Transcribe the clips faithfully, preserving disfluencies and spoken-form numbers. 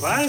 Vai?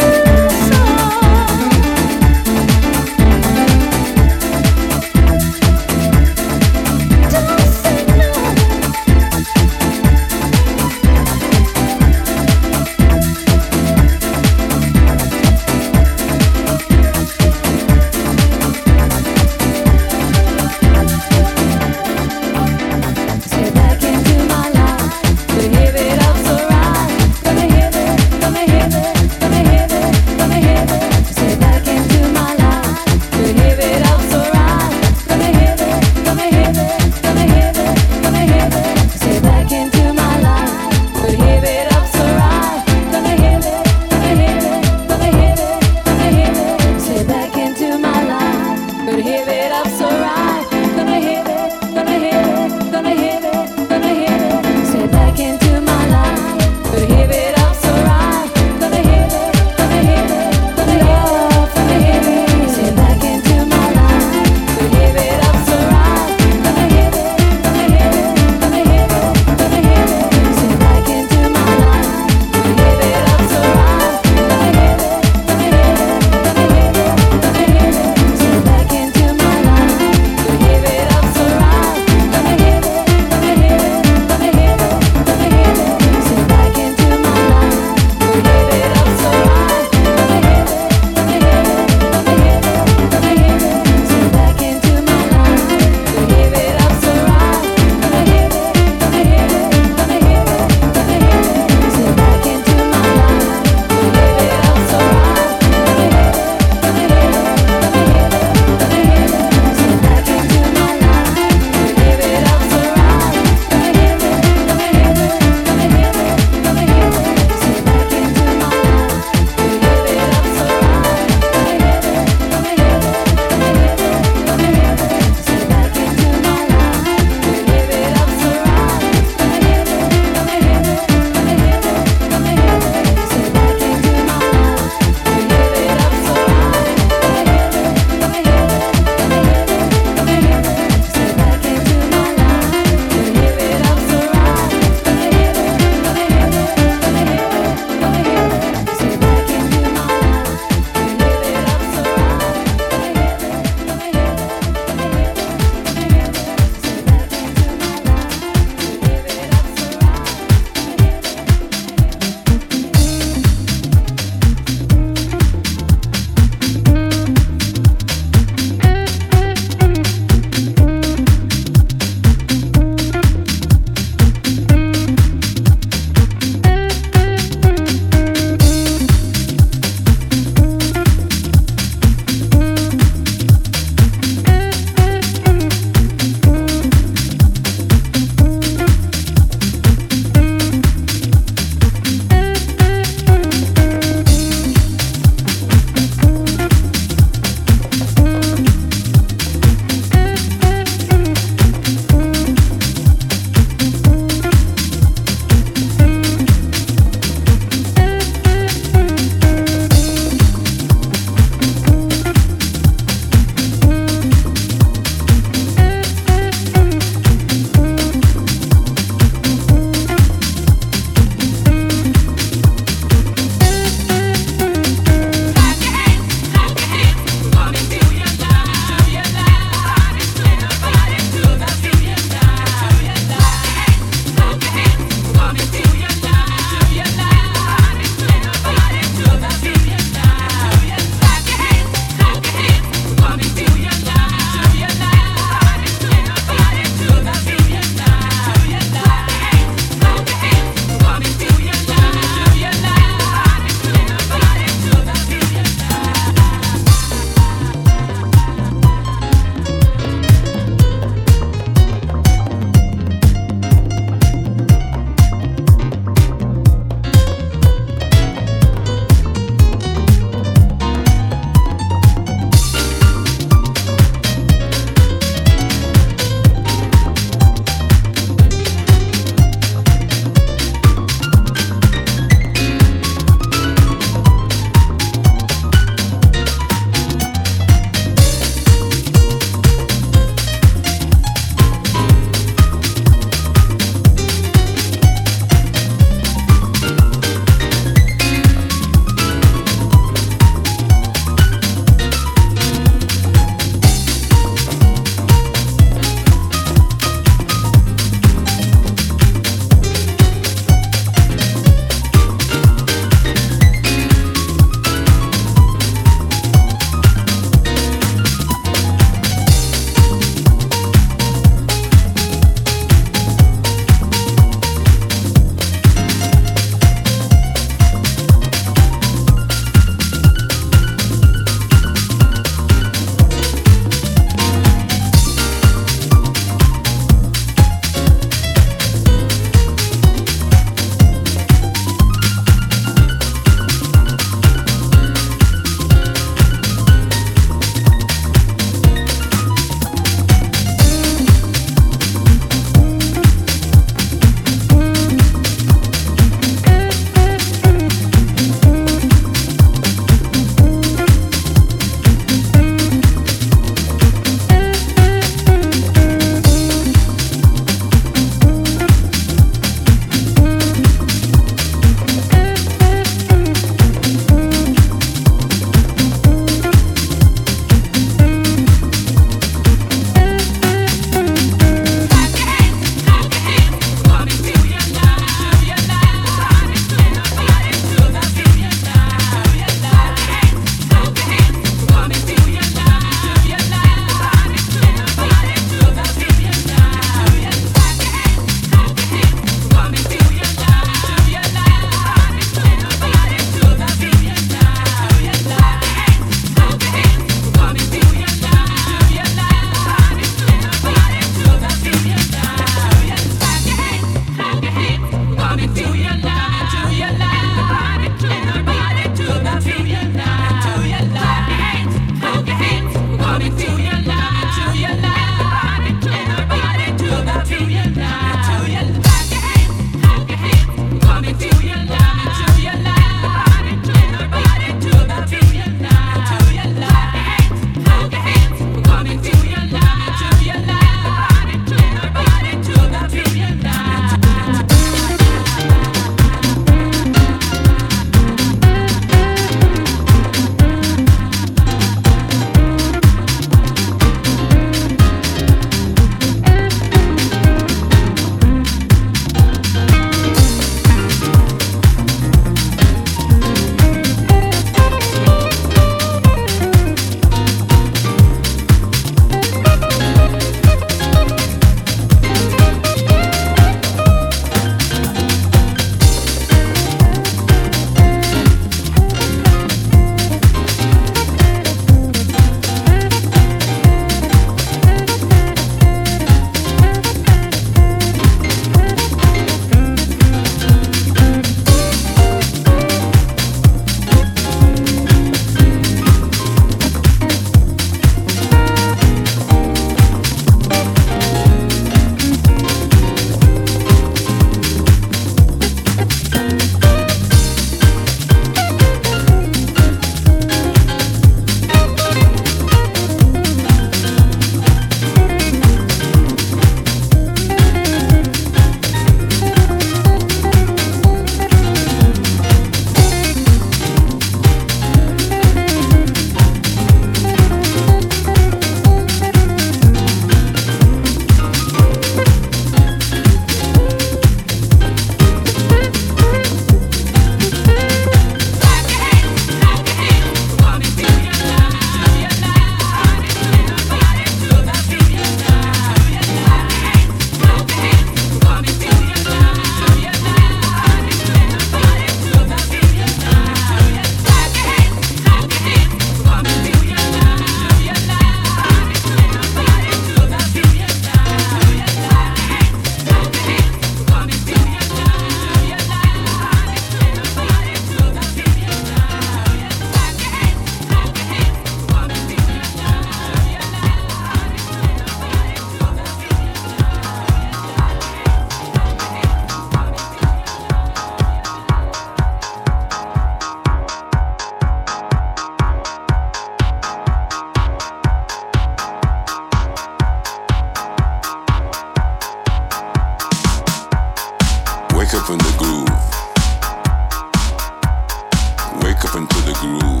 into the groove.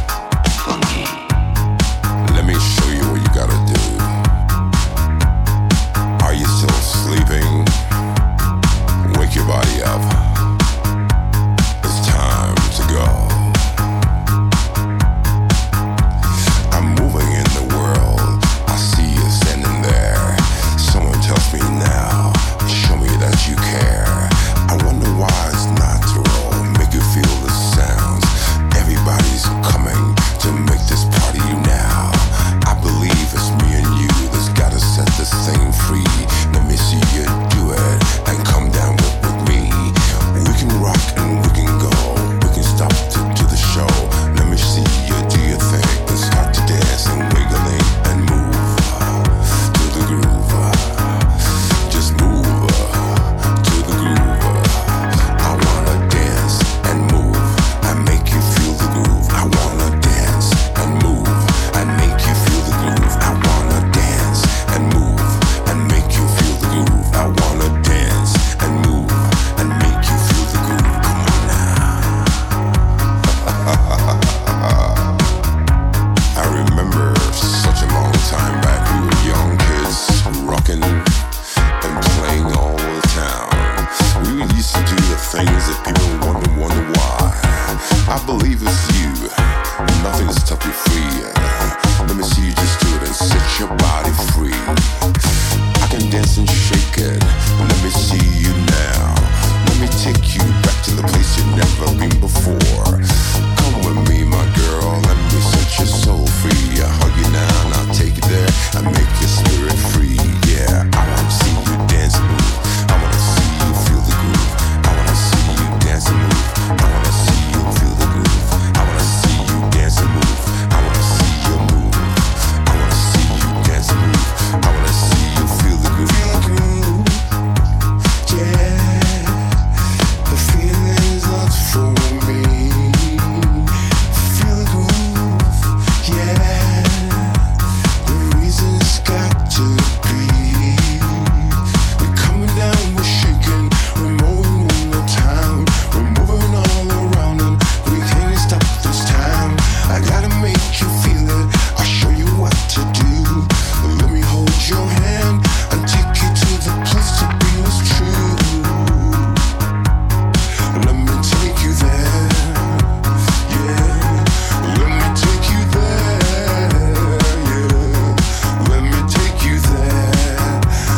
Let me show you what you gotta do. Are you still sleeping? Wake your body up. It's time to go. I'm moving in the world. I see you standing there. Someone tells me now, show me that you care. I wonder why it's natural, make you feel the sounds. Everybody's coming to make this party now. I believe it's me and you that's gotta set this thing free. Let me see you do it and come down with, with me. We can rock and we can go. We can stop to, to the show. Let me see you do your thing and start to dance and wiggling and move uh, to the groove. Uh, just move uh, to the groove. Uh, I wanna dance and move and make you feel the groove. I wanna dance and move and make you feel the groove. I wanna dance and move and make you feel the groove. I wanna dance and move and make you feel the groove. Come on now. I remember such a long time back. We were young kids, rocking and playing all over the town. We used to do the things that people wonder, wonder why. I believe it's you. Nothing to stop you free. Let me see you just do it and set your body free. I can dance and shake it. Let me see you now. Let me take you back to the place you've never been before. Come with me, my girl. Let me set your soul free. I hug you now and I'll take you there and make your spirit free. Yeah, I wanna see you dance and move. I wanna see you feel the groove. I wanna see you dance and move. I wanna see you feel the groove. I wanna see you dance and move. I wanna see you move. I wanna see you dance and move. I wanna see you feel the groove. Feel the groove, yeah. The feeling's lost for me. Feel the groove, yeah. The reason's got to be. We're coming down, we're shaking, we're moving in the town, we're moving all around and we can't stop this time. I gotta make you feel it, I'll show you what to do. Let me hold your hand and take you to the place to be is true. Let me take you there, yeah. Let me take you there, yeah. Let me take you there.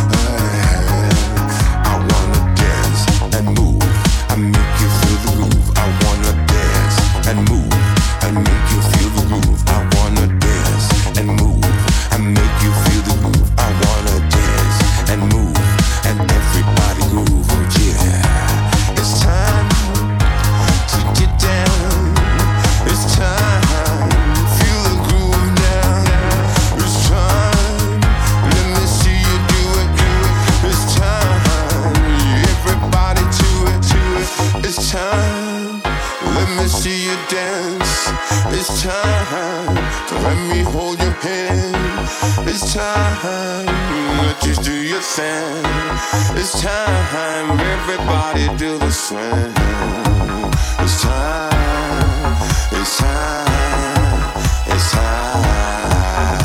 I wanna dance and move and make you feel the groove. I wanna dance and move and make you feel the groove. I wanna dance and move and make you feel the groove. I wanna dance and move and everybody groove. Oh yeah, it's time to get down. It's time, feel the groove now. It's time, let me see you do it, do it. It's time, everybody to it, to it. It's time, let me see you dance. It's time to let me hold your hand. It's time, let you do your thing. It's time, everybody do the swing. It's time, it's time, it's time,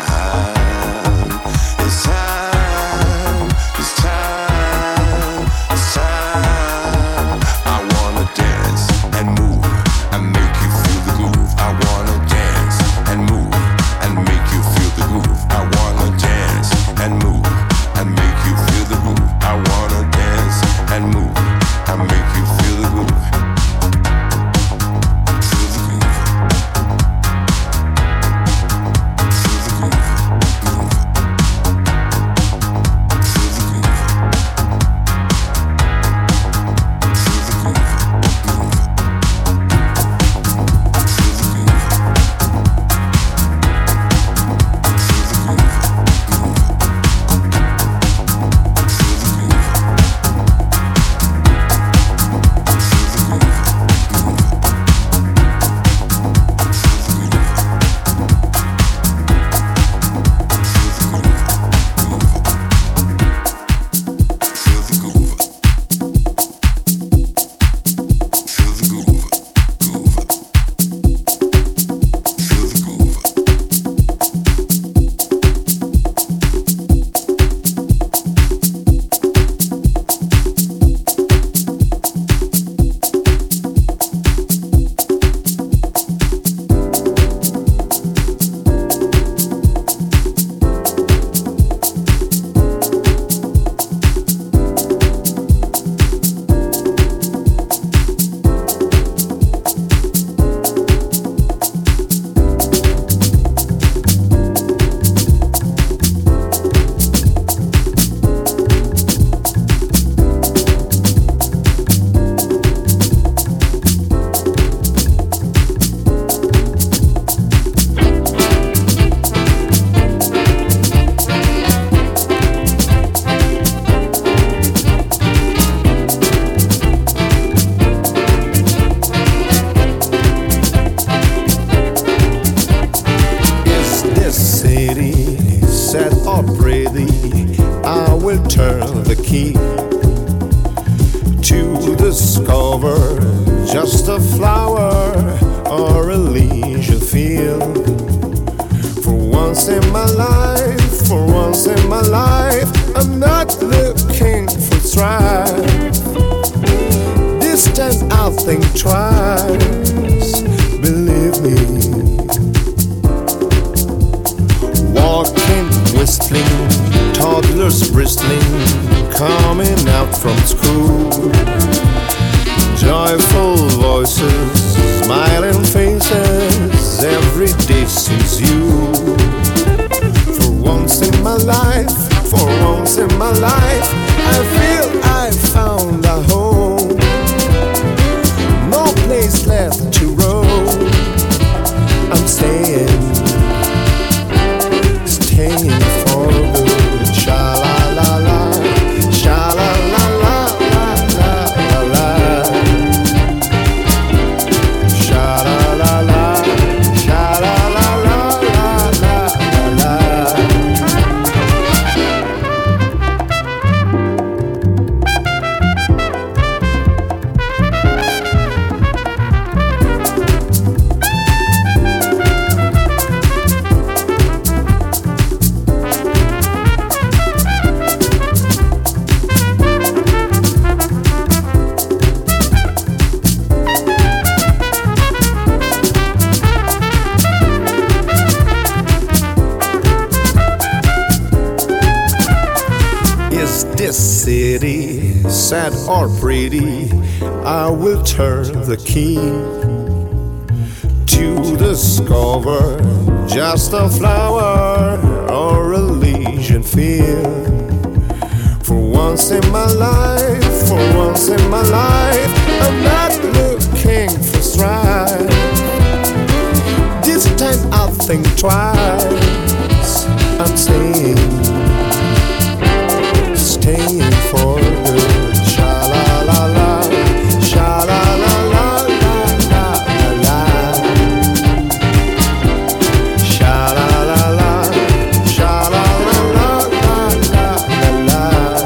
it's time, it's time, it's time. I wanna dance and move and make you feel the groove. I wanna dance and move and make you feel the groove. I wanna dance and move and make you feel the groove. I wanna dance and move and make you feel the groove. in my life, for once in my life, I'm not looking for strife. This time I'll think twice, believe me. Walking, whistling, toddlers bristling, coming out from school. Joyful voices, smiling faces, every day seems you. For once in my life, for once in my life, I feel I found a home. No place left to roam. I'm staying, staying for good. Sha la la la, sha la la la la la la la. Sha la la la, sha la la la la la la la. Is this city sad or pretty? I will turn the key to discover just a flower or a legion field. For once in my life, for once in my life, I'm not looking for strife. This time I'll think twice. I'm staying, staying for good. Sha la la la, sha la la la la la la la. Sha la la la, sha la la la la la la la.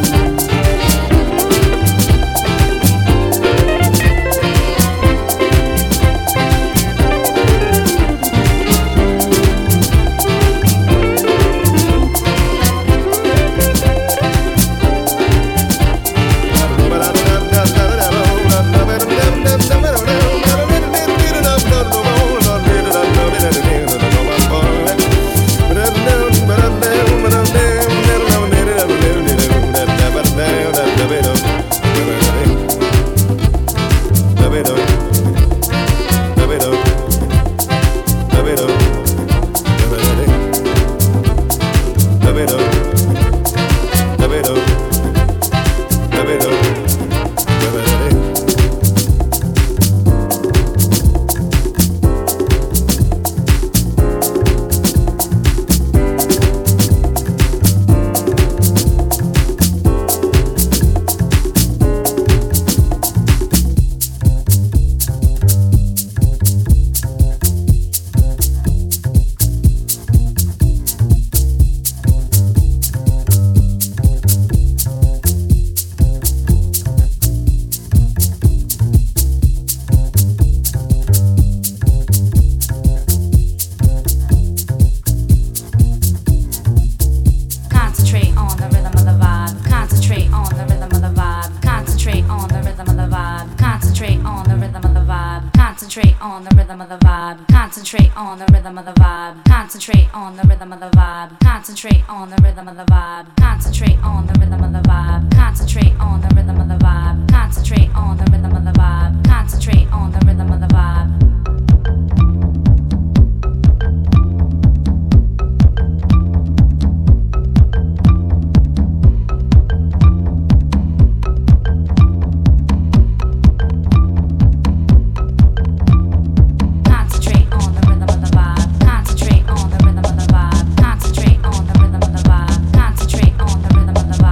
Concentrate on the rhythm of the vibe. Concentrate on the rhythm of the vibe. Concentrate on the rhythm of the vibe. Concentrate on the rhythm of the vibe. Concentrate on the rhythm of the vibe. Concentrate on the rhythm of the vibe. Concentrate on the rhythm of the vibe.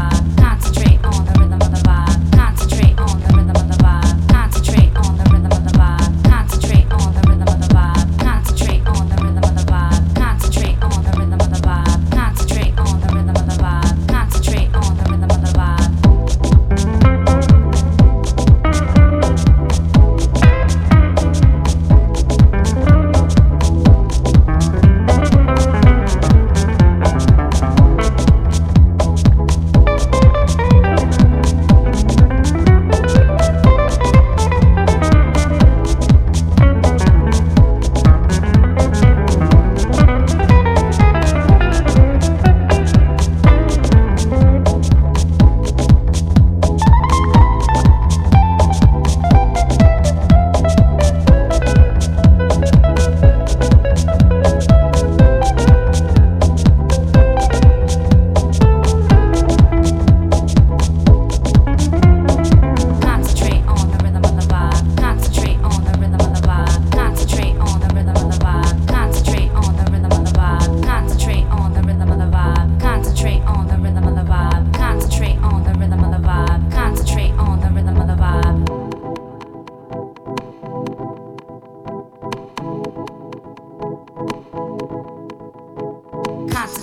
Rhythm of the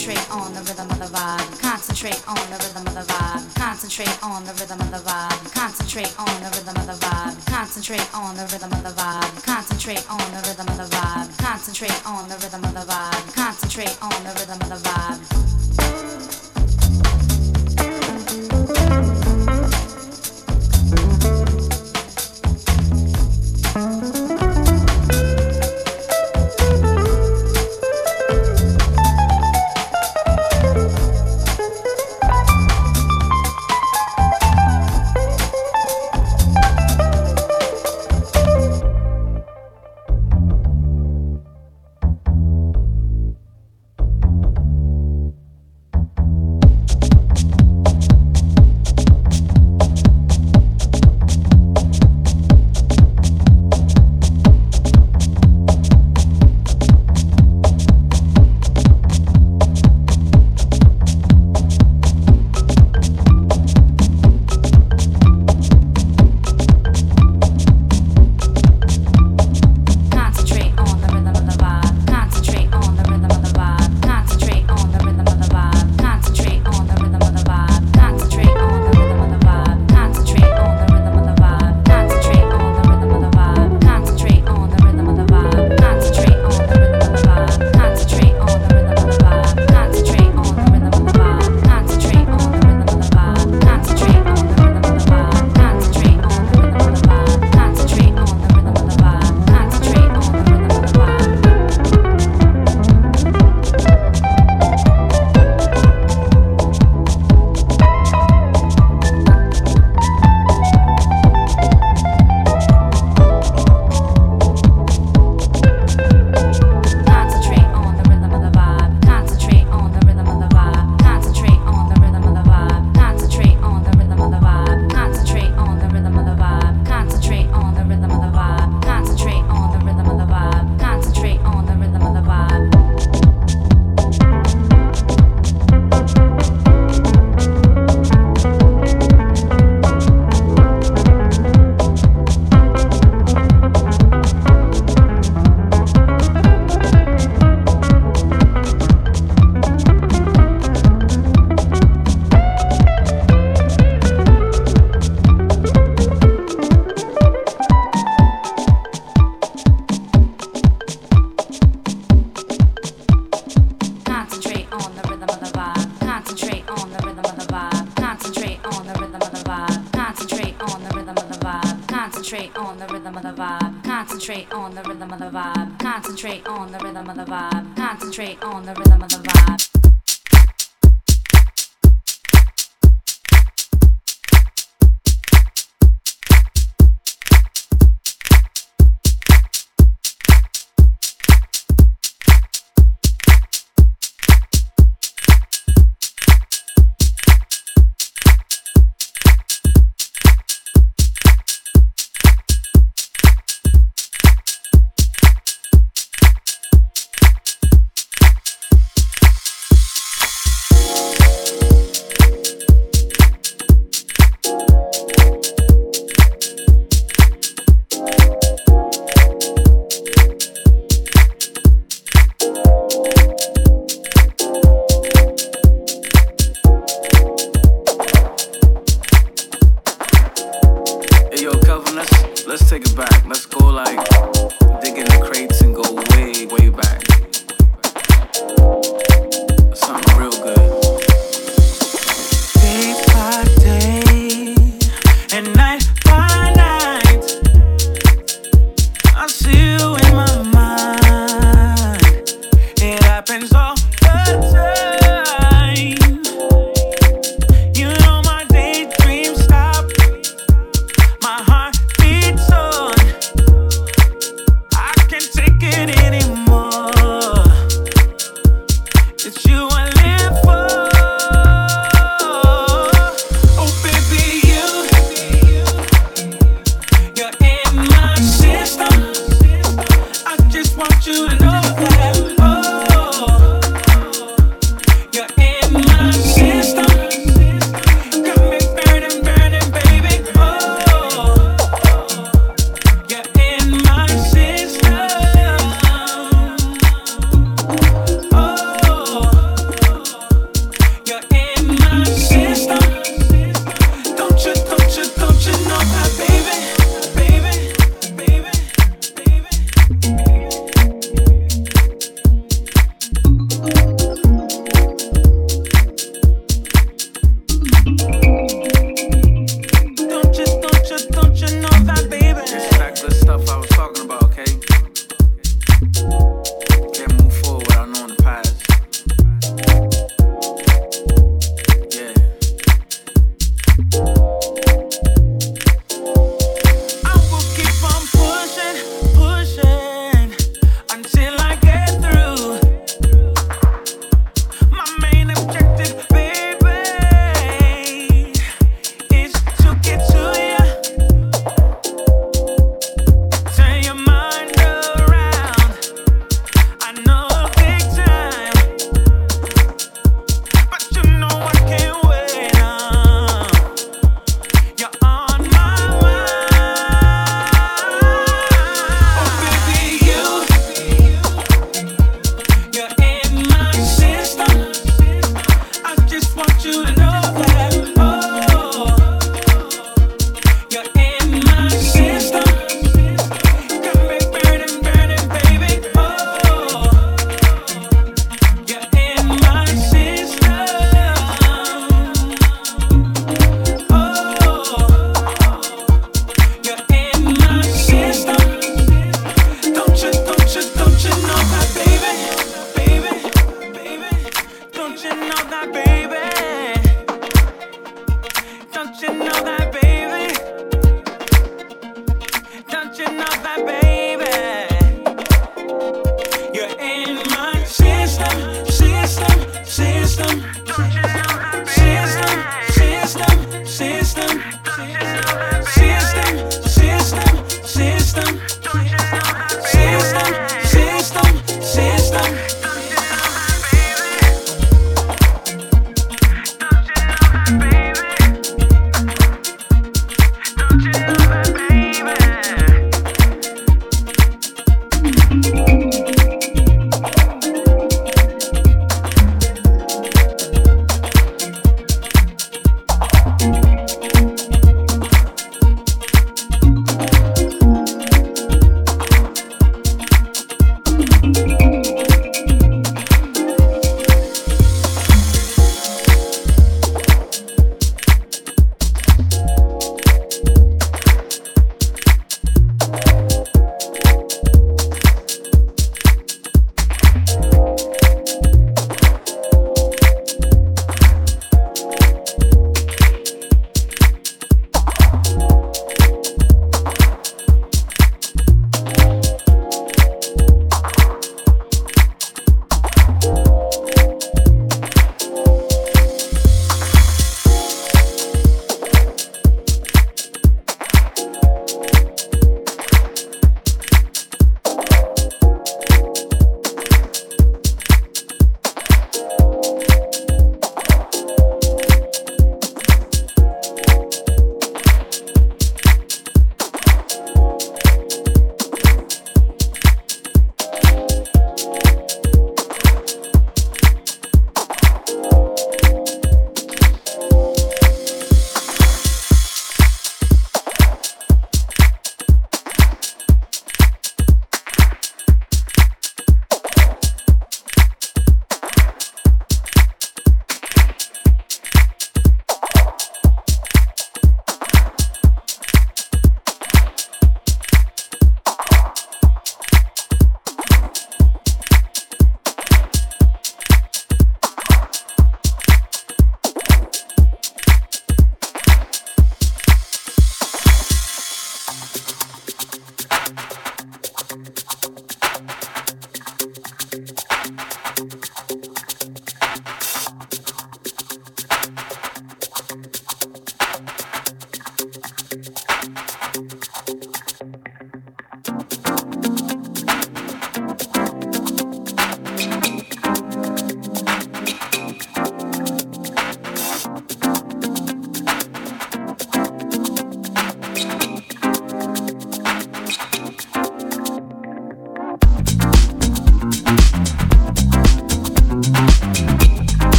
Concentrate on the rhythm of the vibe. Concentrate on the rhythm of the vibe. Concentrate on the rhythm of the vibe. Concentrate on the rhythm of the vibe. Concentrate on the rhythm of the vibe. Concentrate on the rhythm of the vibe. Concentrate on the rhythm of the vibe. Concentrate on the rhythm of the vibe. Concentrate on the rhythm of the vibe. Concentrate on the rhythm of the vibe. Concentrate on the rhythm of the vibe. Concentrate on the rhythm of the vibe.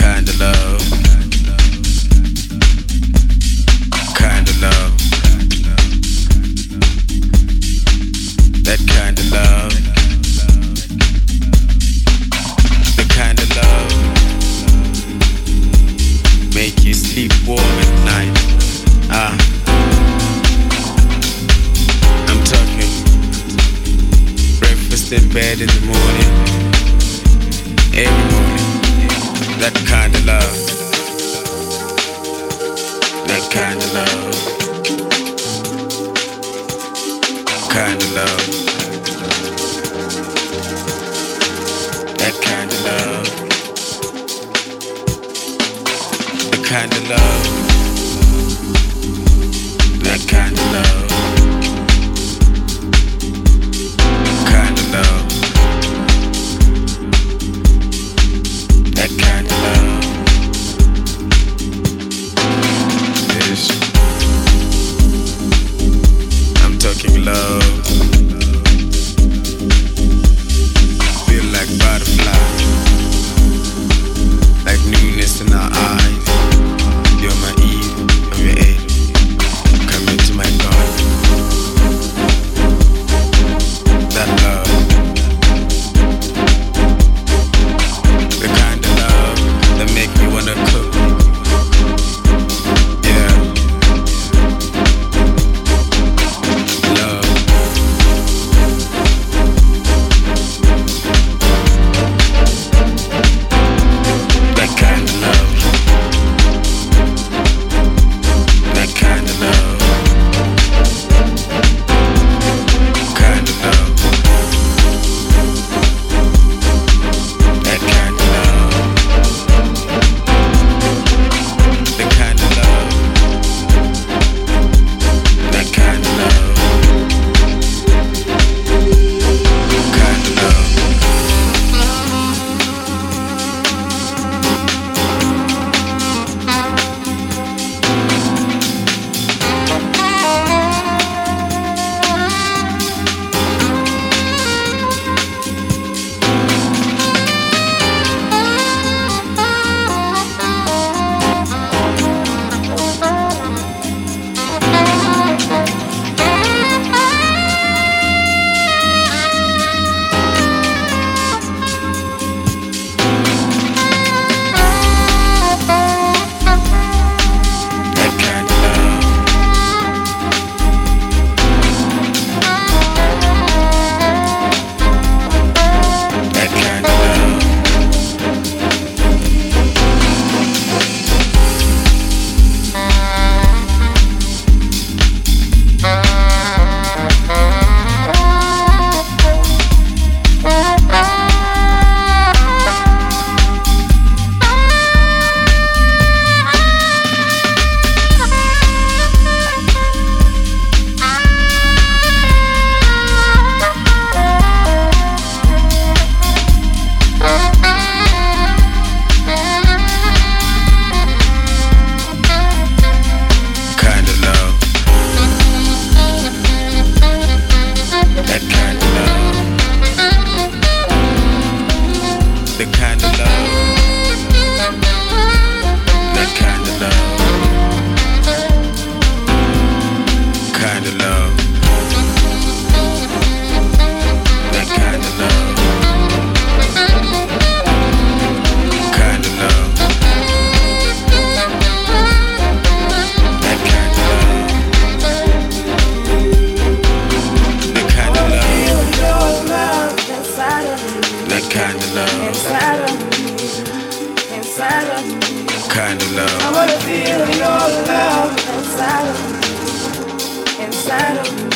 kind of love, kind of love, that kind of love, the kind of love make you sleep warm at night. Ah, I'm talking breakfast in bed in the morning, every morning. That kind of love, that kind of love, kind of love, that kind of love, the kind of love, that kind of love, kind of love. That kind of love is, I'm talking love, feel like butterfly, like newness in our eyes. You're my Eve, I'm your Eve, come into my garden. That love, that make me wanna cook. Yeah. Love. That kind of love. That kind of love. Kind of love. That kind of love. The kind of love, that kind of love, kind of love. Kind of love. I wanna feel your love inside of me, inside of me.